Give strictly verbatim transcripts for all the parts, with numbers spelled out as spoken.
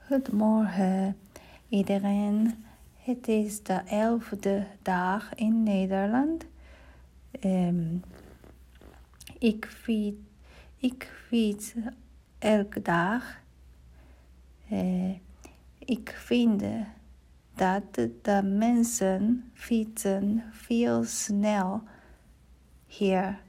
Goedemorgen iedereen. Het is de elfde dag in Nederland. Um, ik, fiets, ik fiets elke dag. Uh, ik vind dat de mensen fietsen veel snel hier.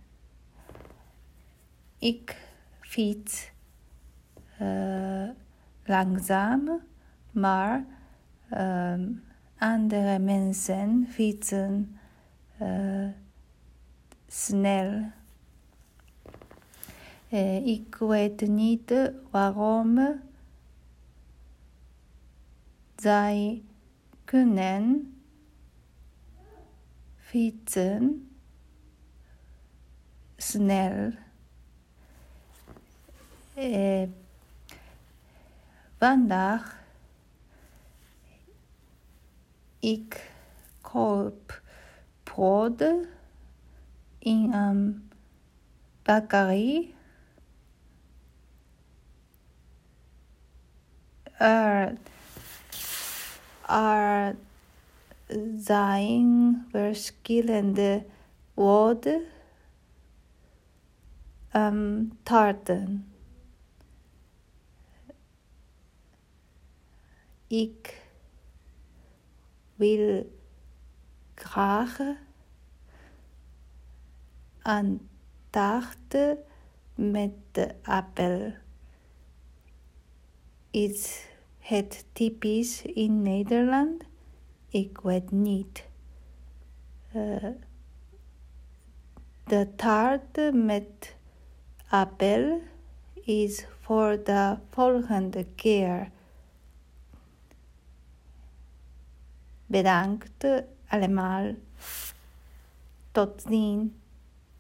Ik fiets uh, langzaam, maar um, andere mensen fietsen uh, snel. Uh, ik weet niet waarom zij kunnen fietsen snel. Uh, vandaag ik koop brood in een bakery. Er, er zijn verschillende broden en taarten. Ik wil graag een taart met appel. Is het typisch in Nederland? Ik weet niet. Uh, de taart met appel is voor de volgende keer. Bedankt allemaal. Tot ziens.